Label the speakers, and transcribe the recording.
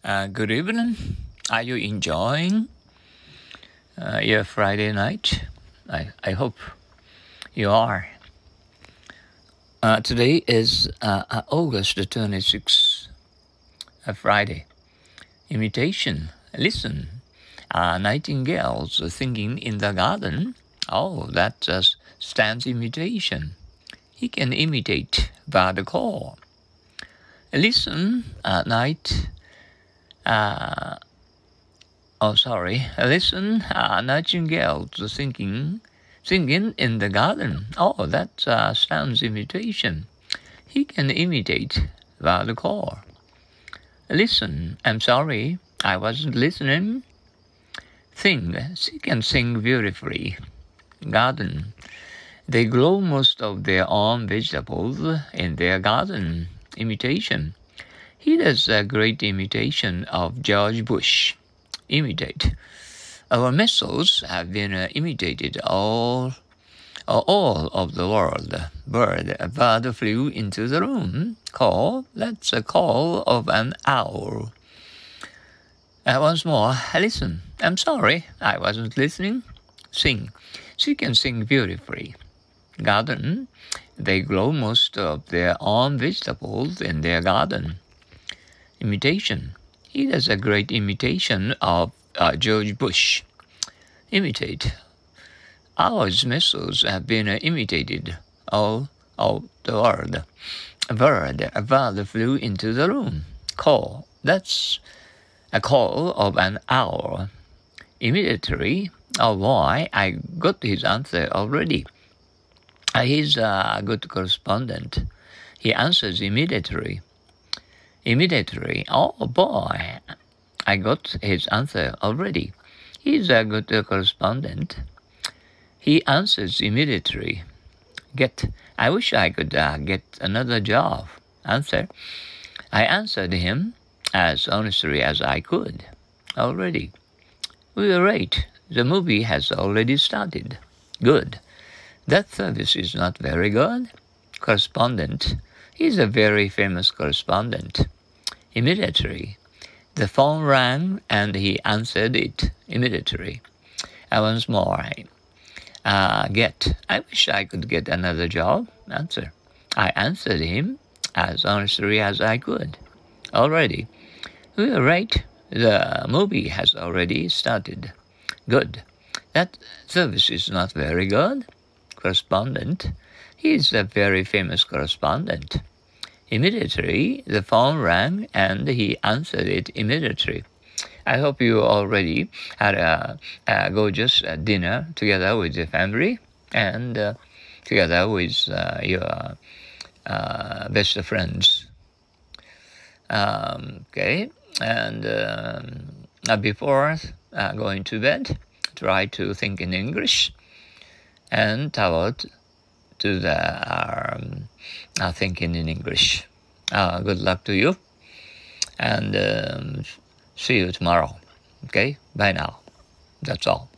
Speaker 1: Good evening. Are you enjoying your Friday night? I hope you are. Today is August the 26th, Friday. Imitation. Listen. Nightingales singing in the garden. Oh, that just stands imitation. He can imitate bird call. Listen at night. Listen, nightingales singing in the garden. Oh, that sounds imitation. He can imitate the call. Listen, I'm sorry, I wasn't listening. Sing, she can sing beautifully. Garden. They grow most of their own vegetables in their garden. Imitation. He does a great imitation of George Bush. Imitate. Our missiles have been imitated all of the world. A bird flew into the room. Call, that's a call of an owl. Once more, listen. I'm sorry, I wasn't listening. Sing. She can sing beautifully. Garden. They grow most of their own vegetables in their garden. Imitation. He does a great imitation of George Bush. Imitate. Our missiles have been imitated all of the world. A bird flew into the room. Call. That's a call of an owl. Immediately. Oh boy, I got his answer already. He's a good correspondent. He answers immediately. Immediately. Oh boy, I got his answer already. He's a good correspondent. He answers immediately. Get. I wish I could get another job. Answer. I answered him as honestly as I could. Already. We were right. The movie has already started. Good. That service is not very good. Correspondent. He's a very famous correspondent. Immediately. The phone rang and he answered it immediately. Once more. Get. I wish I could get another job. Answer. I answered him as honestly as I could. Already. We were right. The movie has already started. Good. That service is not very good. Correspondent. He is a very famous correspondent. Immediately, the phone rang and he answered it immediately. I hope you already had a gorgeous dinner together with your family and together with your best friends. Okay, and before going to bed, try to think in English and toward to the thinking in English. Good luck to you, and see you tomorrow. Okay, bye now. That's all.